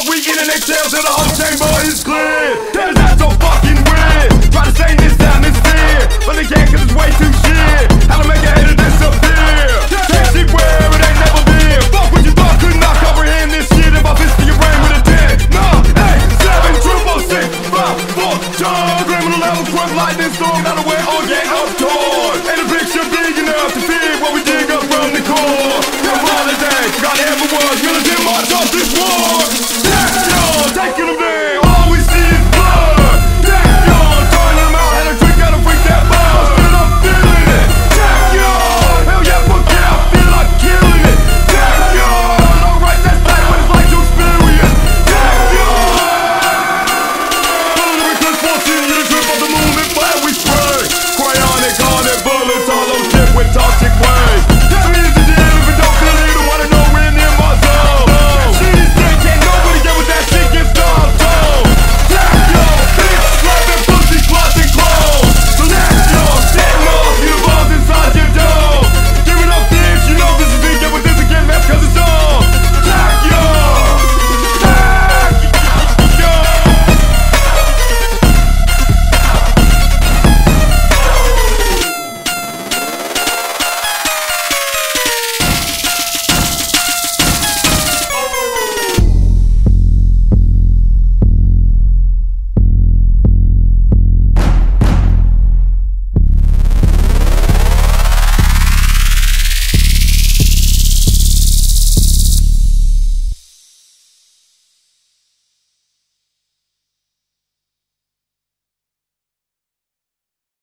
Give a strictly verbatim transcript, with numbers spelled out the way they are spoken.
we in and exhale till the whole chamber is clear. Cause that's so fucking weird. Try to stay in this atmosphere, but they can't cause it's way too shit. How to make a hater disappear. Can't see where